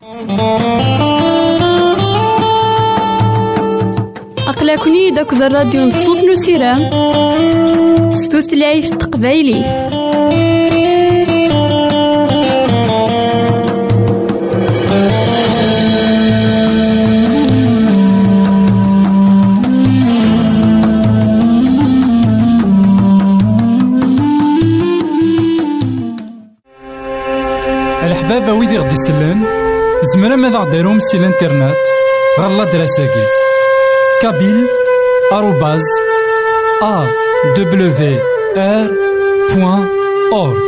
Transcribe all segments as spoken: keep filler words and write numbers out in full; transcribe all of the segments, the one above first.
أقلكني داك الراديو نصوص نسيران ستوثلايف تقبايلي. الحبابة ويدي غدي يسلن زمرا ماذا غديرهم سي الانترنت غالا دراساكي كابيل آروباز أ دبليو آر بوان أورك.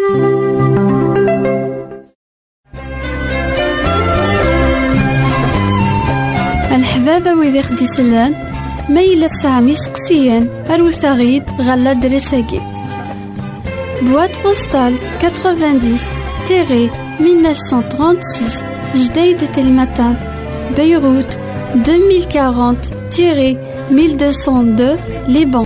الحبابة ويدي غدي يسلن ميلا سامي سقسيان أروساغيد غالا دراساكي بواد بوستال تسعين mille neuf cent trente-six Jdeï de Telmatan Beyrouth deux mille quarante mille deux cent deux Liban.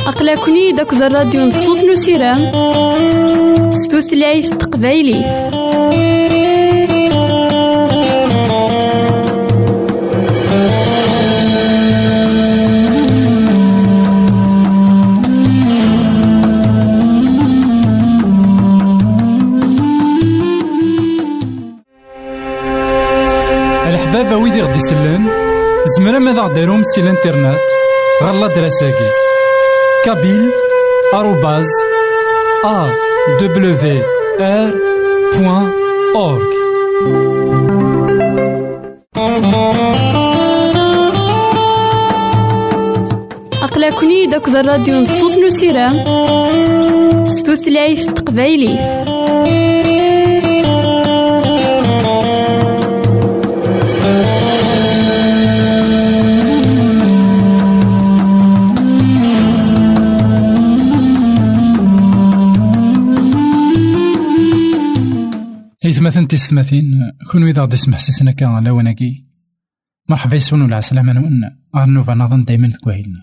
أقلكني داك الراديو نصوص نسيرام ستوثلايف تقبايلي. الحبابة ويدي غدي سلان زمرا ماذا غديرهم سي الانترنت غالا دراساكي كابيل آروباز أ دبليو آر بوان أورغ. أقلكني داك الراديو نصوص نسيرام ستوثلايف تقبايلي. إثماثن تستماثين كون إذا غدي يسمح سسنا كان على وناكي مرحبا يسون ولا عسلامة نون غنوفا نظن دايما تكوهيلنا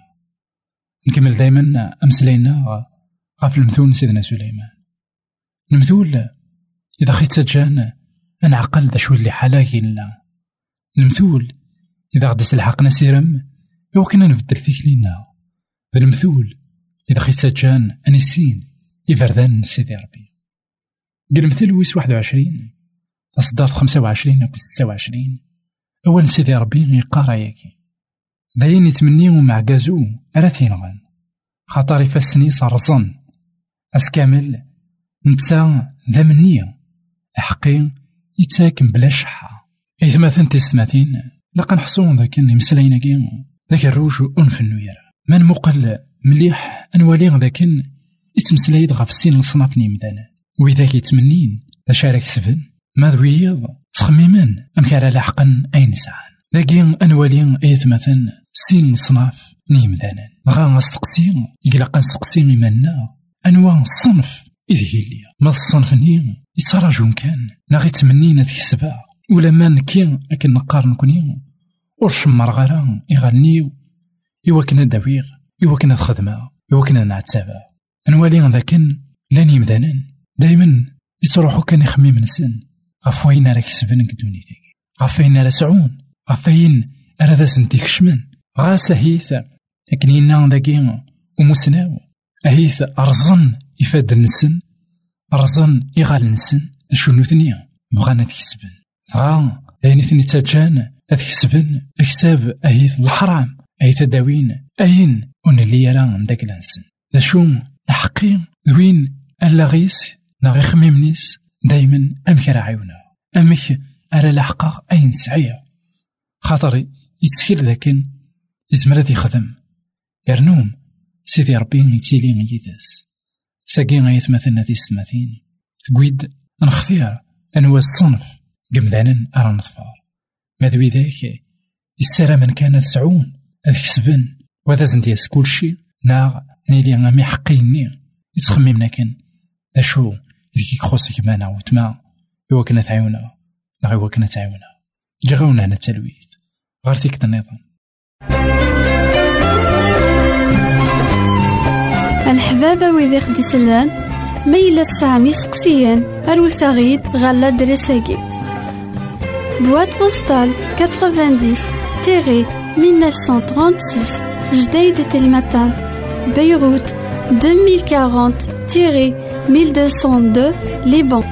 نكمل دايما أمسلينا غاف المثول سيدنا سليمان. المثول إذا خيت سجان أنا عقل ذا شو اللي حلاكي لنا. المثول إذا غدي سلحقنا سيرم إوا كنا نبدل فيك لينا. المثول إذا خيت سجان أنسين يفردان سيدي ربي. المثل ويس واحد وعشرين أصدار خمسة وعشرين أو ستة وعشرين أول سيدي ربي يقارا ياكي داين يتمنيو مع كازو أراثين غان خاطر يفسني صرزن أسكامل نتا ذا منية حقين يتاكم بلا شحة. إذا مثلا تستماتين لقا نحصون ذاك المسلين كين ذاك الروج وأنف النوير من مقل مليح أنوالي ذاك يتمسلايد غاف السين لصناف نيمدانا وإذا كيتمنين أشارك سفن ما ذويض تخميمن أمكارا لاحقا أين ساعان لاقين أنوالين أيث مثلا سين صناف نيمدانا غا نستقسين يقلقا نستقسين منا أنواع الصنف إذ هيليا ما الصنف نين يتراجون كان ناغي تمنين هذيك السبع ولا ما نكين أكن نقارن كونين ورش مرغران يغنيو إوا كنا داويغ إوا كنا الخدمة إوا كنا نعتابا أنوالين ذاكن لان يمدانن دايما يتروحو كان يخمي من سن غفوين على كسبن قدوني تاكي غفين على سعون غفين على ذا سنتيك شمن غاسا هيث اكنينا ذاكي ومسناو هيث أرزن يفاد النسن أرزن يغال النسن شنو ثنيا بغانا تكسبن غا يعني ثني تاجان أتكسبن اكساب أهيث الحرام أهيث داوين أين ونلي يران داك الانسن ذا شوم الحقين ذوين اللاغيس ناغي خميمنيس دايما أمك راه عيونا أمك أرى لحقا أين سعيا خاطر يتسكيل ذاكن يزمر يخدم يرنوم سيدي ربي يتيلي ميداس ساقي غايت مثلا ذي السماثين تقويد نختير أنوا الصنف قمدانا أرى نطفار ماذوي ذاك السلام من كان سعون أذكسبن وذا زندياس كل شي ناغ نيلي غامي حقيني يتخممنا كان أشو ذيك يخصك معنا وتما إوا كنا تعاونا لا إوا كنا تعاونا جاونا هنا التلويث غير فيك النظام. الحبابة ويدي خدي سلان ميلا السامي سقسيان أروثاغيد غالا دريساكي بواد بوستال تسعين تيري مية وتسعمية وثلاثة وثلاثين جديد تلمتان بيروت ألفين وأربعين تيري mille deux cent deux Liban.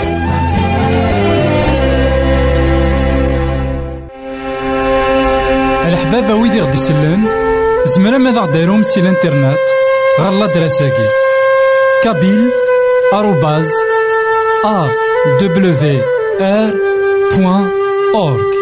الحبابة ويدي غدي سلان زمرا ماذا غديرهم سي الانترنت غالا دراساكي كابيل آروباز أ دبليو آر بوان أورغ.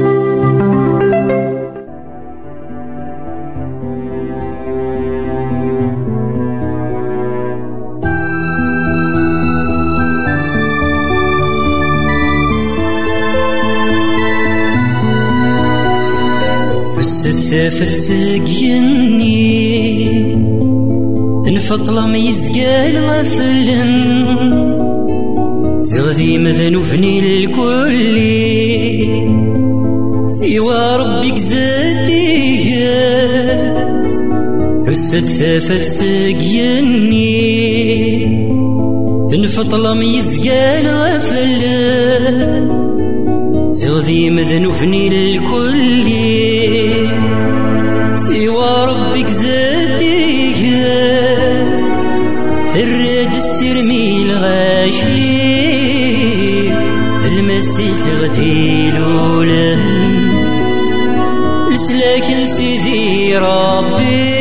فسقيني نفطل ميزقال غفلن زغدي مذنوفني الكل سوى ربك زاديه رست ثافت سقيني تنفطل ميزقان غفل زغذي مذنوفني الكل سوى ربك زاديك ثرد السرمي الغاشي تلمسي تغتيلولا لسلاكن سيدي ربي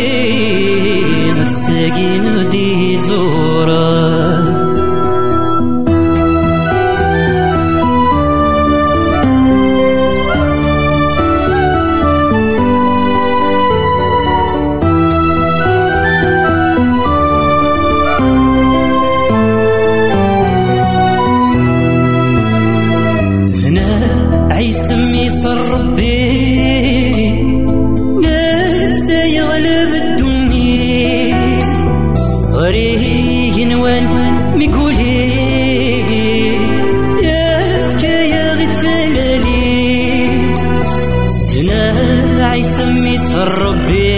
مساكين غدي زورا عيسمي صر ربي ننسى يغلب الدنيا غريه نوان ميقولي يفكى يا غتلالي سنا عيسمي صر ربي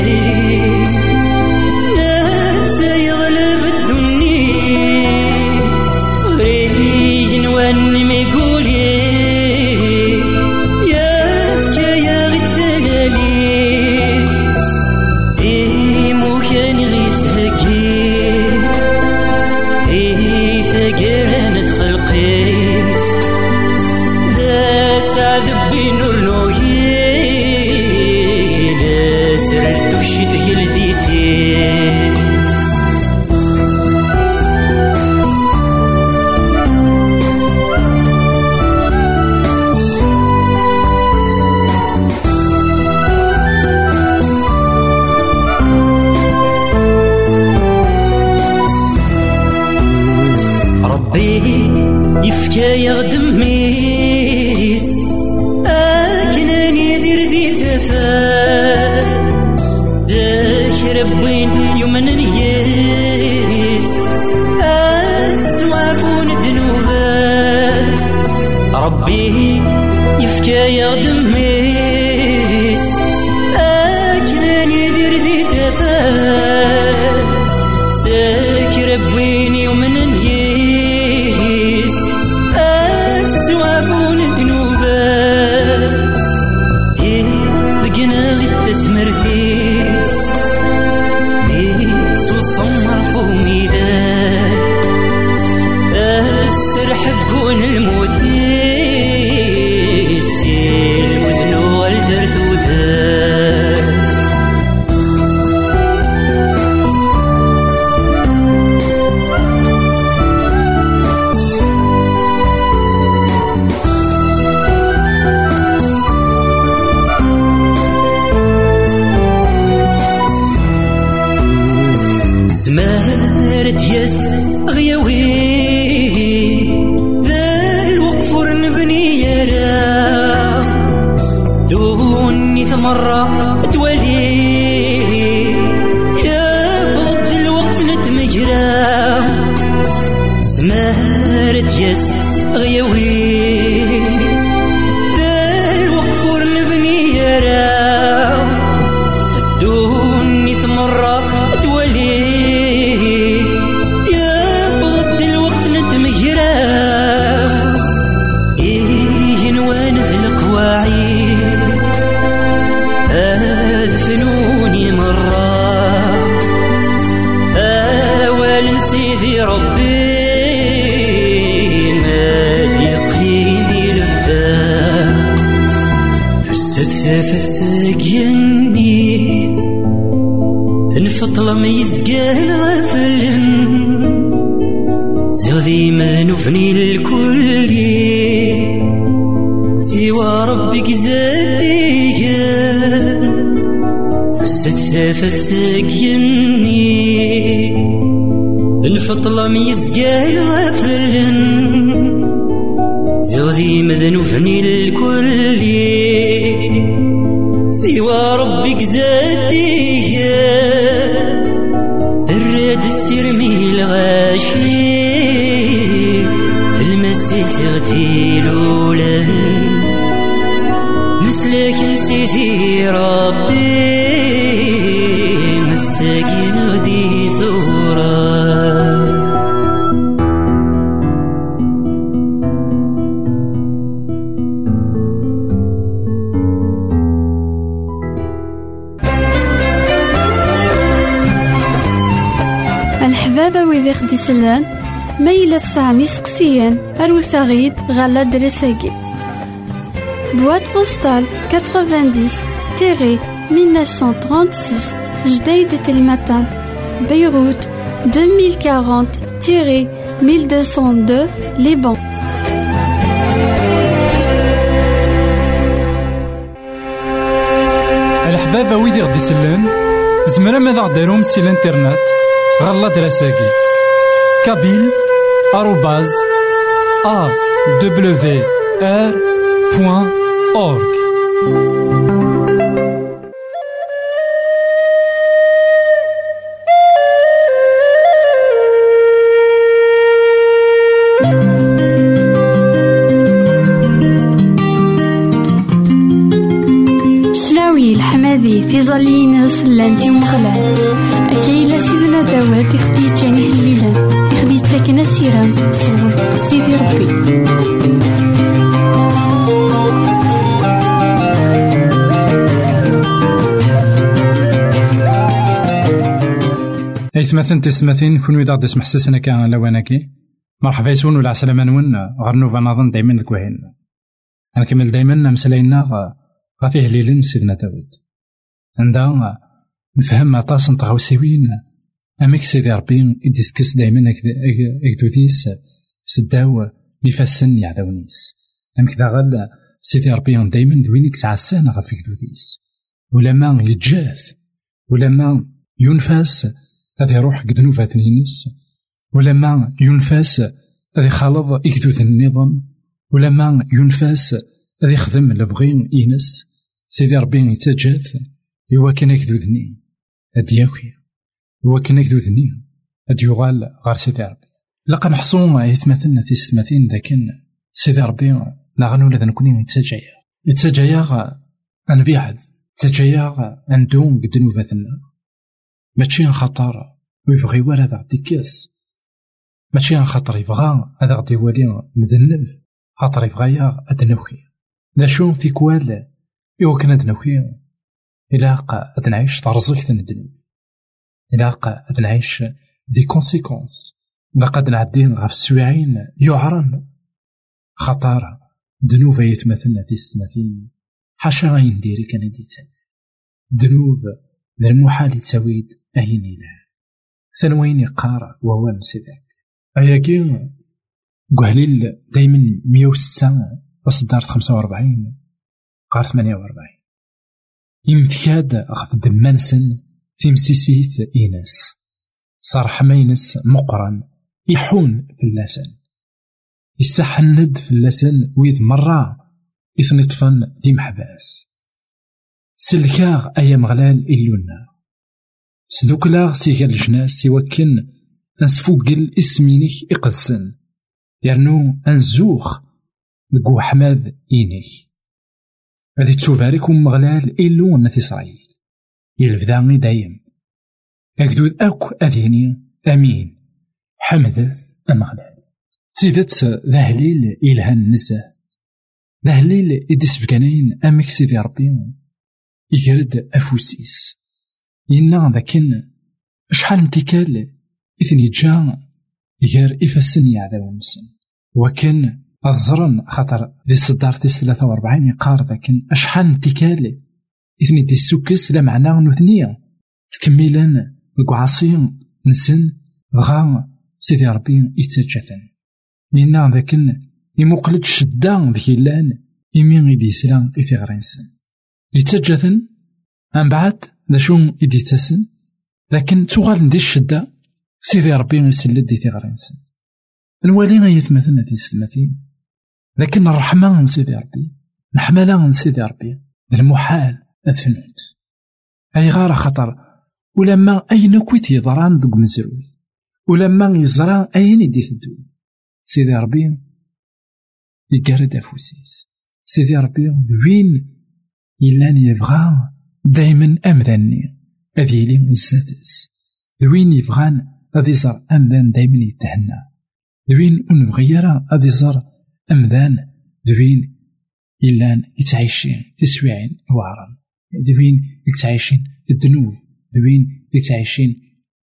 ننسى يغلب الدنيا غريه نوان ميقولي يفكى يغدم ميس أكنان يدير دي تفا زاكر بوين يومن نيس أسوافون دنوبا ربي يفكى يغدم ميس أكنان يدير دي تفا زاكر بوين يومن نيس تسمرتيس ميس وصمر فوميدا السرحقون الموتيس المذن والدرث وذا زمارت يس غيوي ذا الوقفر نبني يرى دوني ثمرة تولي يا بضد الوقت نتمجرى زمارت يس غيوي ذا الوقفر نبني يرى دوني ثمرة تولي أدفنوني مرة أول سيدي ربي ما تيقيني لفا فالسدفة تسقيني الفطلة ما يزقال غفلن زغذي ما نفني الكل سوى ربك زاديك فالسدفة تسقيني الفطلة ميزقال غفلن زغذي مذنوفني الكل سوى ربك زاديك الراد السرمي الغاشي المسي تغتيلولا لسلاك نسيتي ربي ساقي غدي زورا. الحبابة ويدي خدي سلان ميلا السامي سقسيان أروساغيد غالا دريساكي. بواد بوستال تسعين مية وتسعمية وستة وثلاثين جديد تلمتان بيروت ألفين وأربعين ألف ومئتين واثنين لبنان. الحبابة ويدي غدي سلان زمرا ماذا غديرهم سي الانترنت غالا دراساكي كابيل آروباز أ دبليو آر بوان أورك. شلاوي الحمادي في ظلينس لانتي مغلال أكيلا سيدنا داوات يخدي جاني الليلان يخدي تاكنا سيران صور سيدي ربي. ايثمثن تسمثين كون ويدا غدي سمح سسنا كان لواناكي مرحبا يسون ولا عسلامة نون غير نوفا نظن دايما الكوهين. غنكمل دايما مسلاينا غا فيه ليلن سيدنا داود عندها نفهم عطاس نتغاوسيوين اميك سيدي ربي يديسكس دايما اكدوديس سداو ميفاسن يعداونيس امك دا غال سيدي ربي دايما دوينيك سعسان غا في كدوديس ولما يتجاث ولما ينفاس هذا يروح قد نوفات نينس ولما ينفاس هذا يخالط يكدوث النظام ولما ينفاس هذا يخدم لبغين إينس سيدي ربي يتجاث هو كان يكدوذني أدياوكي هو كان يكدوذني أديوغال غار سيدي ربي لقا نحصون يتمثلنا في ستماثين داكن سيدي ربي نغنو لذا نكوني يتسجايا يتسجايا أنبيعد يتسجايا أندون قد نوفاتنا ماشي خطر ويبغي ولا ذا ديكاس ماشي خطر يبغى هذا غدي يولي مذنب خاطر يبغى أدنوكي لا شو تيكوال إوا كان أدنوكي إلاقا أدنعيش ترزقت ندنو إلاقا أدنعيش دي كونسيكونس لقد نعدين غاف السويعين يعرن خطارة دنوب يتمثلنا في ستماثين حاشا غاين ديري كان ديتان دنوب من المحال تسويد أين إله ثانوين يقارا ووان سيداك أياكي قهليل دايما مية وستة تصدار خمسة وأربعين قار ثمانية وأربعين يمتكاد أخذ دمانسن في مسيسيت إيناس صار حماينس مقرن يحون في اللسان يسحند في اللسان ويذ مرة يثنطفن دي محباس سلكاغ أيام غلال إلونا سدوكلاغ سيغال الجناس سيوكن أنسفوقل اسمينيك إقدسن يرنو أنزوخ لقو حماد إينيك هذي تشوفارك ومغلال إلونا في إسرائيل يلفذاني دايم أكدود أكو أذيني أمين حمدث أمغلال سيدت ذهليل إلهان نزه ذهليل إدس بكانين أمك سيدي ربي يجرد أفوسيس ينا ذاكن شحال انتكال إثني جا يجار إفاسن يعذاو نسن وكان أظرن خاطر ذي صدار تيس ثلاثة وأربعين يقار ذاكن أشحال انتكال إثني دي السوكس لا معناه نثنية تكملان وقعصين نسن غا سيدي ربي يتسجثن ينا ذاكن يمقلد شدان ذكي لان يمين يدي سلان إثي غرينسن يتسجثن من بعد ذا شون يدي تسن لكن تغال ندي الشدة سيدي ربي يسلد إثي غرينسن الوالي غيتمثلنا في سلمتين لكن الرحمة من سيدي ربي الحملة من سيدي ربي المحال أثنوت أي غار خطر ولما أين كويت يضران دوك مزروي ولما يزران أين يدي ثدو سيدي ربي يقارد أفوسيس سيدي ربي دوين إلان يبغى دايما أمذني أذيلي من السادس دوين يبغان هذا يزار أمذان دايما يتهنى، دوين ونبغي يرى هذا يزار أمذان دوين إلا يتعيشين تسويعين وعرا، دوين يتعيشين الذنوب، دوين يتعيشين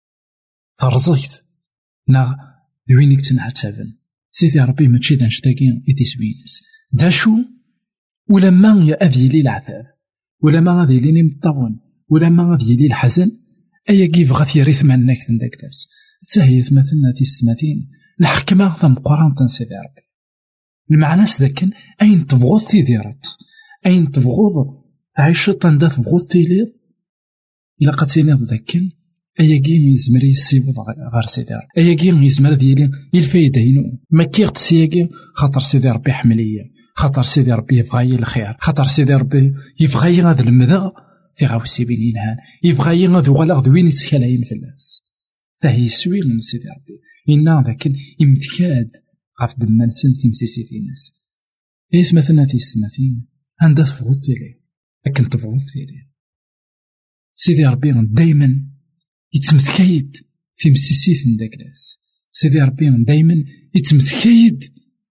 ترزقت نا دوين يتنعتبن. سيدي ربي ماشي دا نشتاقين يتسوينس داشو ولا ما يا أذي لي العذاب، ولا ما غادي ليني مطون، ولا ما غادي لي الحزن، أيا كيف غادي يريث معنا كتن داك الناس تاهي مثلنا تيستماتين الحكمة ثم قران تنسيدي ربي المعنى ذاكن أين تبغض تيديرت، أين تبغض عيشة تندا تبغض تيليض إلا قد تينيض ذاكن أيا كين يزمري يسيبو غار سيدي ربي، أيا كين يزمر ديالي الفايدة هينو ما كيغت سياكي خاطر سيدي ربي حملية، خاطر سيدي ربي يبغاي الخير، خاطر سيدي ربي يبغاي غاد المذا في غاوسي بين ينهان، يبغاي غاد وغلاغ وين يتسكالاين في الناس فهي سوير من سيدي ربي إنا لكن امتكاد غاف دمان سنتي مسيسيتي ناس إيث مثلنا تيستماتين عندها تفغض تيلي لكن تفغض تيلي سيدي ربي دايما يتمثكايد في مسيسيت نداك ناس، سيدي ربي دايما يتمثكايد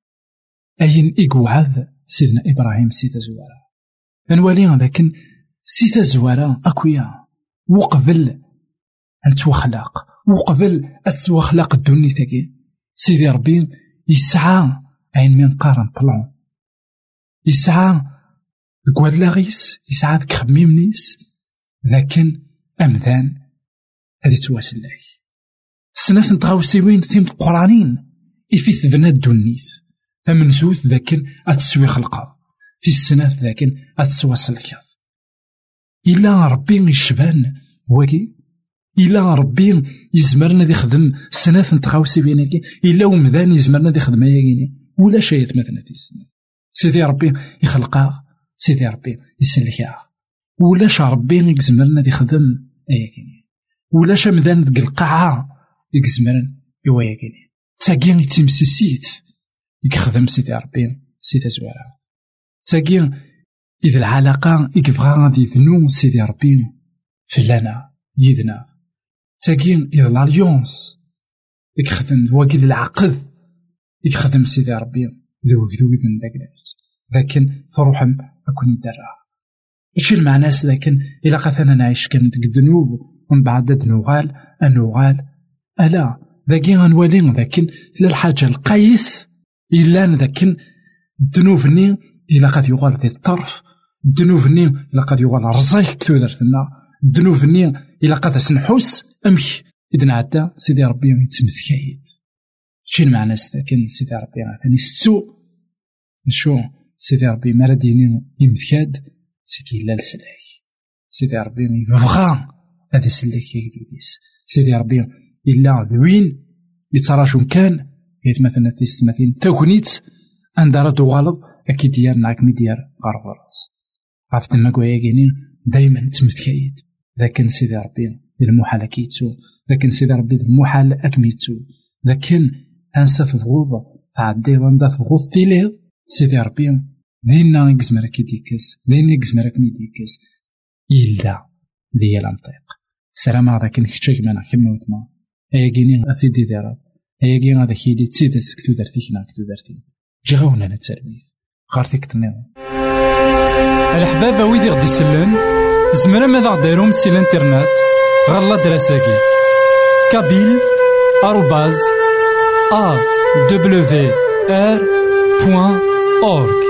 أين إقوعاذ سيدنا إبراهيم سيدة زوارة نواليها، لكن سيدة زوارة أكويا وقبل أن توخلاق وقبل أتوخلاق الدنيا تاكي سيدي ربي يسعى عين من قارن بلان، يسعى قوال لاغيس، يسعى ذك خميمنيس، لكن أمذان هذي تواسل لاي سنة نتغاوسيوين ثيم قرانين إفيث ذنا الدنيث فمن زوث ذاكن أتسوي خلقا في السنة ذاكن أتسواسل الكاظ إلا ربي يشبان واقي، إلا ربي يزمرنا دي خدم سنة نتغاوسي بيناكي، إلا ومذان يزمرنا دي خدم ياكيني ولا شيء مثلا في السنة سيدي ربي يخلقا، سيدي ربي يسلكا ولاش ربي يزمرنا دي خدم ياكيني ولاش مذان ديك القاعة يزمرن يوا ياكيني تاكين يتمسيسيت يخدم سيدي ربي سيدي زوارة تاكين إذا العلاقة يكبغا غادي يذنو سيدي ربي فلانا يذنا تاكين إذا الاليونس يخدم واكيد العقد يخدم سيدي ربي ذوك ذوك ذن داك الناس، لكن فروحهم أكون يدرها إيش المعنى لكن إلا قثنا نعيش كان ديك الذنوب ومن بعد نوغال النوغال ألا ذاكي غنولي لكن للحاجة القيث إلا لكن الذنوبني إلا قد يغال ذي الطرف، الذنوبني إلا قد يغال رزايك كتو درتنا، الذنوبني إلا قد سنحوس أمك إذن عدا سيدي ربي يتمثكايد شي المعنى لكن سيدي ربي غاثاني السوء شو سيدي ربي مرديني يمثكاد سيكي لا لسلاك سيدي ربي يبغى هذا سلاك يكدوديس سيدي ربي إلا ذوين يتراجون كان يتمثلنا تيستمثين تاكونيت عند رادو غالب أكيد ديار نعك مديار غرغراس عرفت ما كواياكيني دايما تمثكايد لكن سيدي ربي المحال كيتسو، لكن سيدي ربي المحال أكميتسو، لكن أنسى تفغوض تعدي غندا تفغوض تيليض سيدي ربي دينا يكزمرك كيديكس دينا يكزمرك ميديكس إلا ديال الانطيق سلام هذا كان كتشاك معنا كما وتما أيا كيني أثيدي ديرا أيا كيني هذا كيدي تسيدت كتو درتيكنا كتو درتي جي غاونا نتسربيث غارتيك تنيض الحبابة ويدي غدي سلان زمرا ماذا غديرهم سي الانترنت غالا دراساكي كابيل آروباز أ دبليو آر بوان أورك.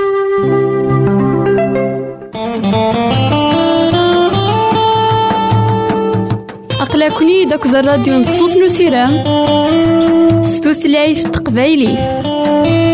أقلكني داك الراديو نصوص نسيران ستوثلايف تقبايلي.